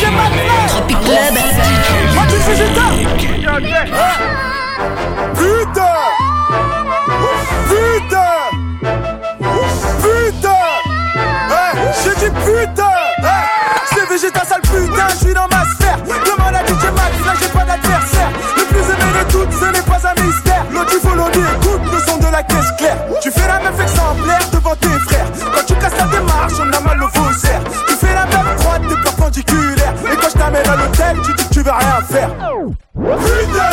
Tropic Club. Putain! J'ai dit putain! C'est Vegeta sale putain, je suis dans ma sphère. Demande à DJ Max, là j'ai pas d'adversaire. Le plus aimé de toutes, ce n'est pas un mystère. L'autre il faut l'audio, écoute le son de la caisse claire. Tu fais la meuf exemplaire devant tes frères. Quand tu casses ta démarche, on a mal au faussaire. Tu fais la meuf droite, t'es perpendiculaire. Et quand je t'amène à l'hôtel, tu dis que tu vas rien faire. Putain!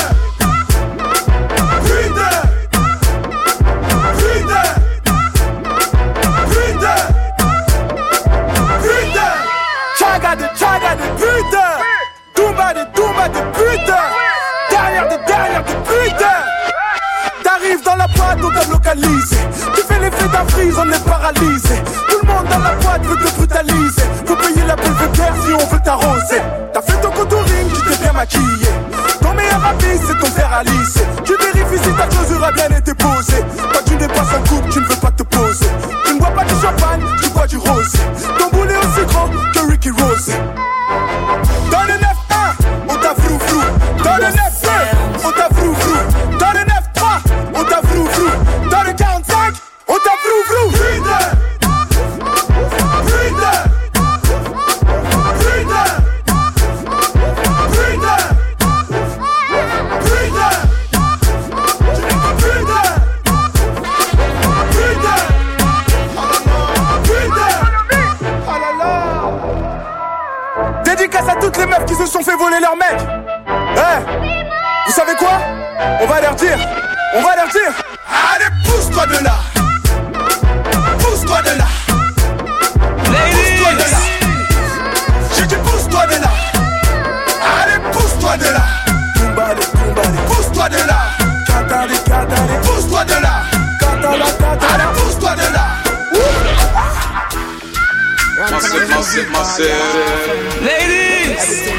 Chaga de putain, Toumba de putain, derrière de putain. T'arrives dans la boîte, on t'a localisé. Tu fais l'effet d'un freeze, on est paralysé. Tout le monde dans la boîte veut te brutaliser. Faut payer la belvédère si on veut t'arroser. T'as fait ton contouring, tu t'es bien maquillé. Ton meilleur ami, c'est ton fer à lisser. Tu vérifies si ta closure a bien été posée. Quand tu dépasses un couple, tu ne veux pas te poser. Tu ne bois pas du champagne, tu bois du rosé. Ton boulet est aussi grand que Ricky Rose. Dans le 9-1, on t'a frou-frou. Dans le 9-2, on t'a frou-frou. Dans le 9-3, on t'a frou-frou. Dans le 45, on t'a frou-frou. Putain! Dédicace à toutes les meufs qui se sont fait voler leur mec. Vous savez quoi? On va leur dire. Allez, pousse-toi de là. Pousse-toi de là. Pousse-toi de là. J'ai dit pousse-toi de là. Allez, pousse-toi de là. Pousse-toi de là. Pousse-toi de là. Allez, pousse-toi de là. Ladies!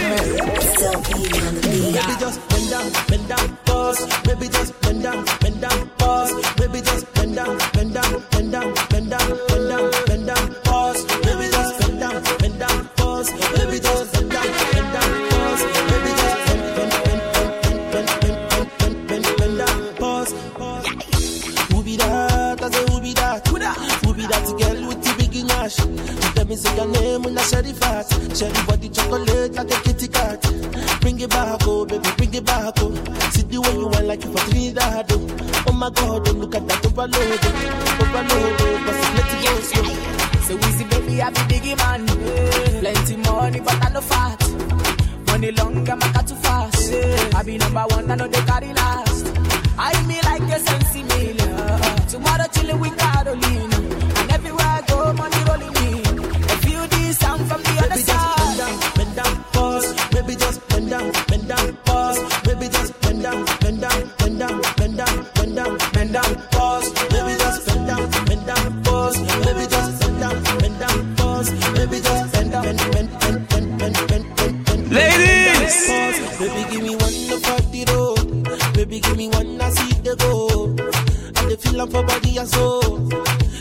Baby just bend down, pause. Baby just bend down, pause. Baby just bend down, pause. Baby just bend down, pause. Baby just bend down, pause. Baby just bend down, pause. Who be that? I say who be that? Who be that girl with the big nash? Let me say your name when I share the fat. Share the body chocolate like a kitty cat. Bring it back, oh baby, bring it back, oh. See the way you want like you for Trinidad, oh. Oh my God, oh, look at that overload, oh. But let it go slow. So we see baby, I be biggie man. Plenty money, but I no fat. Money long, I'm a too fast. I be number one, I know they carry last. I me like a sensi meal. Tomorrow chillin' with Carolina. And everywhere I go, money rolling in. Sound from the other side. Bend down, pause. Baby just bend down, pause. Baby just bend down, pause. Baby just bend down, pause. Baby just bend down, pause. Baby just bend down, Ladies! pause. Baby give me one for the road. Baby give me one I see the go. And the feeling for body and soul.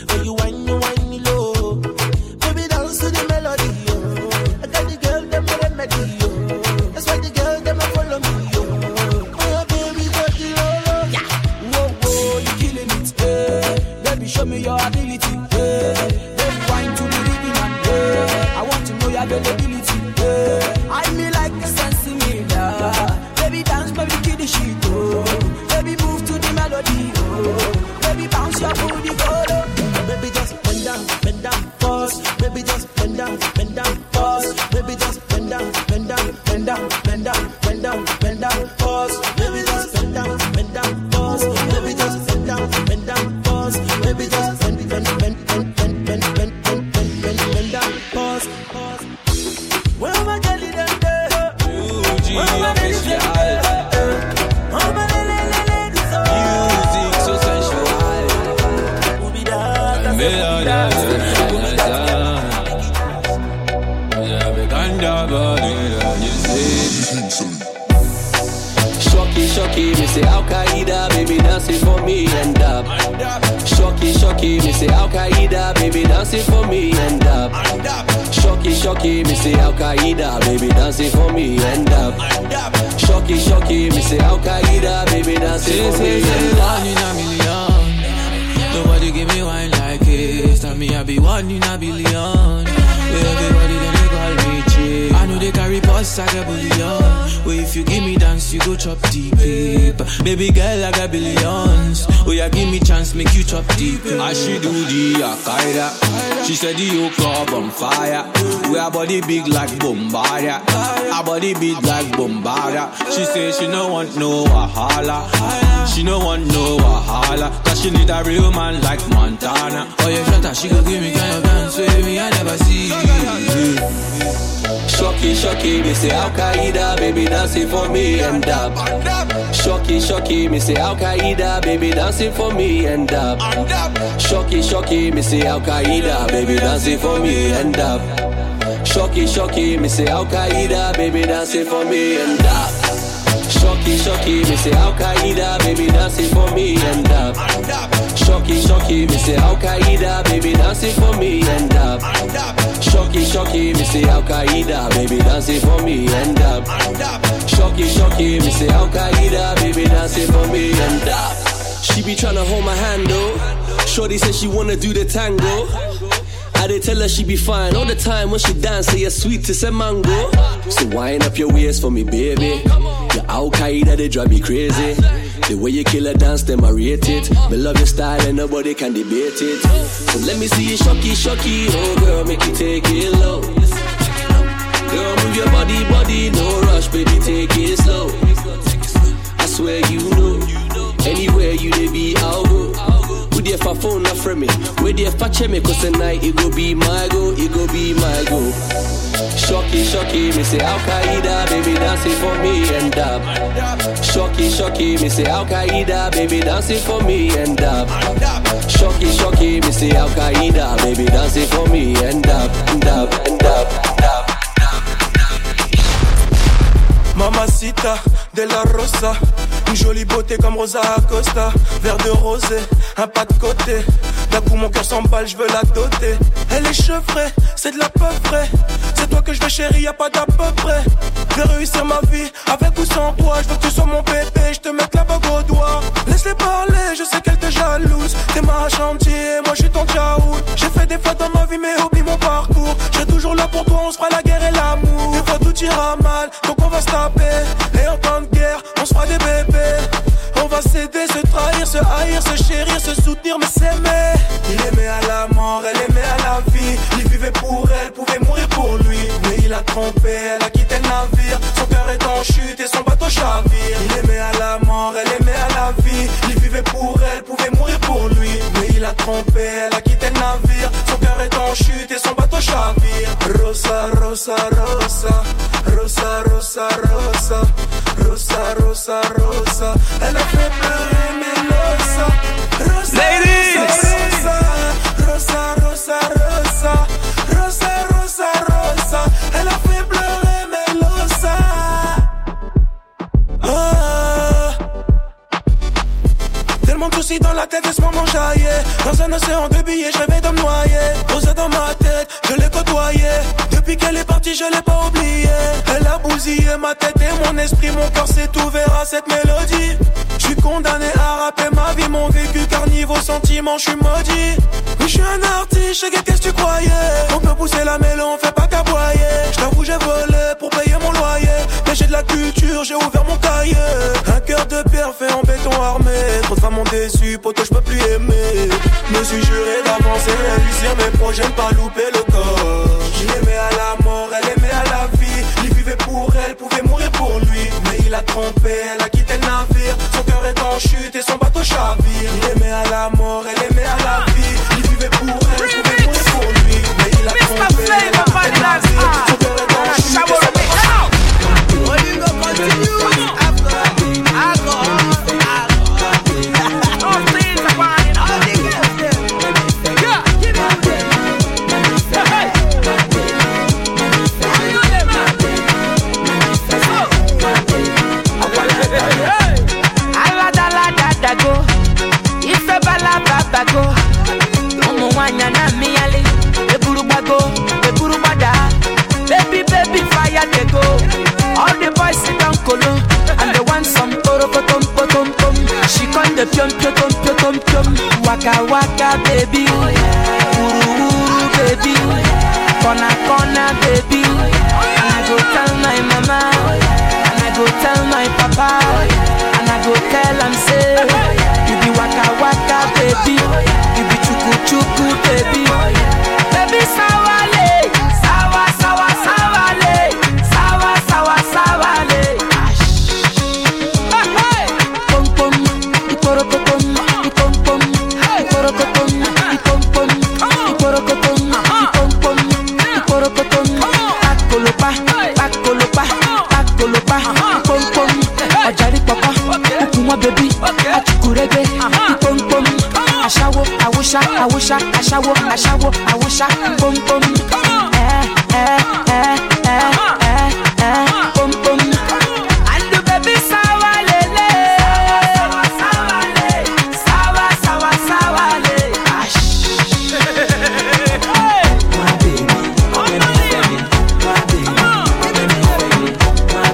say Al Qaeda, baby dancing for me and up. Shocky, me say Al Qaeda, baby dancing for me and up. Shocky, me say Al Qaeda, baby dancing for me and up. Shocky, me say Al Qaeda, baby dancing for me and up. One in a million, nobody give me wine like this. Tell me I be one in a billion. Everybody then they call me chick. I know they carry boss, I got bullion. Well, if you give me dance, you go chop deep. Baby girl, I got billions. Oh yeah, give me chance, make you chop deep. I she do the Al-Qaeda. She said the whole club on fire. We our body big like Bombardier. Our body big like Bombardier. She say she no want no wahala. She no want no wahala. Cause she need a real man like Montana. Oh yeah, shut up, she go give me kind of dance with me, I never see. Shocky, me say Al Qaeda, baby dancing for me and up. Shocky, me say Al Qaeda, baby dancing for me and up. Shocky, me say Al Qaeda, baby dancing for me and up. Shocky, me say Al Qaeda, baby dancing for me and up. Shocky, me say Al Qaeda, baby dancing for me and up. Shocky, me say Al Qaeda, baby dancing for me and up. Shocky, me say Al Qaeda, baby dancing for me and up. Shocky, me say Al Qaeda, baby dancing for me and up. She be tryna hold my hand though. Shorty said she wanna do the tango. I did tell her she be fine all the time when she dance, say you're sweet to say mango. So wind up your waist for me, baby. Your Al Qaeda, they drive me crazy. The way you kill a dance, them I rate it. Me love your style and nobody can debate it. So let me see you shocky, oh girl, make you take it low. Girl, move your body, no rush, baby, take it slow. I swear you know, anywhere you dey be, I'll go. With your phone not from me, with your check me, cause tonight it go be my go, it go be my go. Shocky, me say Al Qaeda, baby dancing for me and up. Shocky, me say Al Qaeda, baby dancing for me and up. Shocky, me say Al Qaeda, baby dancing for me and up, and up, and up, and up. Mamacita de la Rosa, une jolie beauté comme Rosa Acosta. Verre de rosé, un pas de côté. D'un coup mon cœur s'emballe, je veux la doter. Elle est chevrée, c'est de la peu près. C'est toi que je veux chérie, y'a pas d'à peu près. Je vais réussir ma vie, avec ou sans toi. Je veux que tu sois mon bébé, je te mette la bague au doigt. Laisse-les parler, je sais qu'elle te jalouse. T'es ma chantier, moi je suis ton tchaout. J'ai fait des fautes dans ma vie mais oublie mon parcours. Je serai toujours là pour toi, on se fera la guerre et l'amour. Des fois tout ira mal, donc on va se taper. Et en temps de guerre, on se fera des bébés. On va s'aider, se trahir, se haïr, se chérir, se soutenir, mais s'aimer. Il aimait à la mort, elle aimait à la vie. Il vivait pour elle, pouvait mourir pour lui. Mais il a trompé, elle a quitté le navire. Son cœur est en chute et son bateau chavire. Il aimait à la mort, elle aimait à la vie. Il vivait pour elle, pouvait mourir pour lui. Mais il a trompé, elle a quitté le navire. Son cœur est en chute et son bateau chavire. Rosa, Rosa, Rosa. Rosa, Rosa, Rosa. Rosa, Rosa, Rosa. Elle a fait pleurer Melosa. Rosa, Rosa, Rosa, Rosa, Rosa. Rosa, Rosa, Rosa. Elle a fait pleurer Melosa. Tellement de soucis dans la tête, laisse-moi m'enjailler. Dans un océan de billets, je rêvais de me noyer. Rosa dans ma tête, je l'ai côtoyée. Depuis qu'elle est partie, je l'ai pas oubliée. Elle a bousillé ma tête et mon esprit. Mon cœur s'est ouvert à cette mélodie. Je suis condamné à rapper ma vie, mon vécu. Car niveau sentiment, je suis maudit. Oui, je suis un artiste, je sais qu'est-ce que tu croyais. On peut pousser la mêlée, on fait pas qu'aboyer. Je t'avoue, j'ai volé pour payer mon loyer. Mais j'ai de la culture, j'ai ouvert mon cahier. Un cœur de pierre fait en béton armé. Trop de femmes m'ont déçu, poto, je peux plus aimer. Me suis juré d'avancer, réussir mes projets, ne pas louper le corps. Il aimait à la mort, elle aimait à la vie. Il vivait pour elle, pouvait mourir pour lui. Mais il a trompé, elle a quitté le navire. Son cœur est en chute et son bateau chavire. Il aimait à la mort, elle aimait à la vie. Il vivait pour elle, pouvait mourir pour lui. Mais il a trompé, elle a quitté le navire. Son cœur est en chute et son bateau chavire. I waka baby, uru uru baby, corner baby, and I go tell my mama, and I go tell my papa, and I go tell am say, you be waka waka baby, you be chuku chuku baby, baby sawale, sawa sawa sawale, sawa sawa sawale. Pom pom, iporokotom, ipom pom, iporokotom, ipom pom, iporokotom, ipom pom, iporokotom. Pakolopa, pakolopa, pakolopa, ipom pom. Ọjàrí pọpọ, okunmọ bèbí, achukurege, ipom pom. Aṣawo, awusa, awusa, aṣawo, aṣawo, awusa, pom pom. Pom pom. And the baby sawa lele, sawa le, sawa sawa sawa le. My baby, let me feel it. My baby, let me feel it.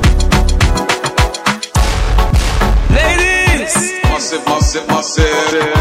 Ladies, massive.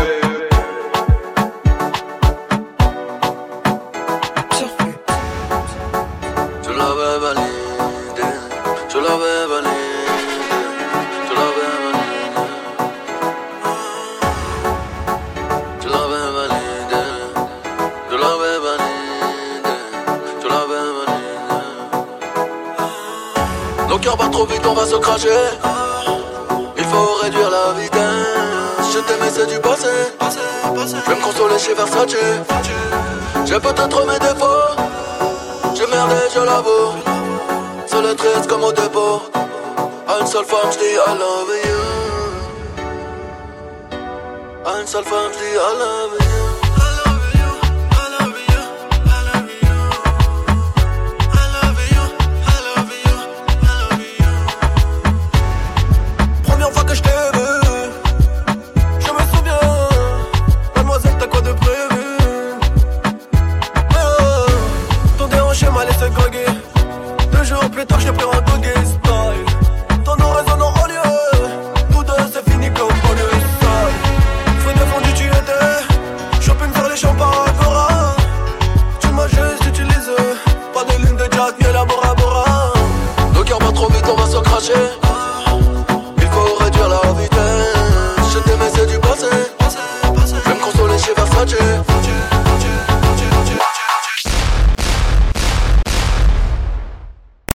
Nos cœurs battent trop vite, on va se cracher. Il faut réduire la vitesse. Je t'aimais, c'est du passé. Je vais me consoler chez Versace. J'ai peut-être mes défauts. J'ai merdé, je l'avoue. Seul et triste comme au dépôt. À une seule femme, j'dis I love you. À une seule femme, j'dis I love you.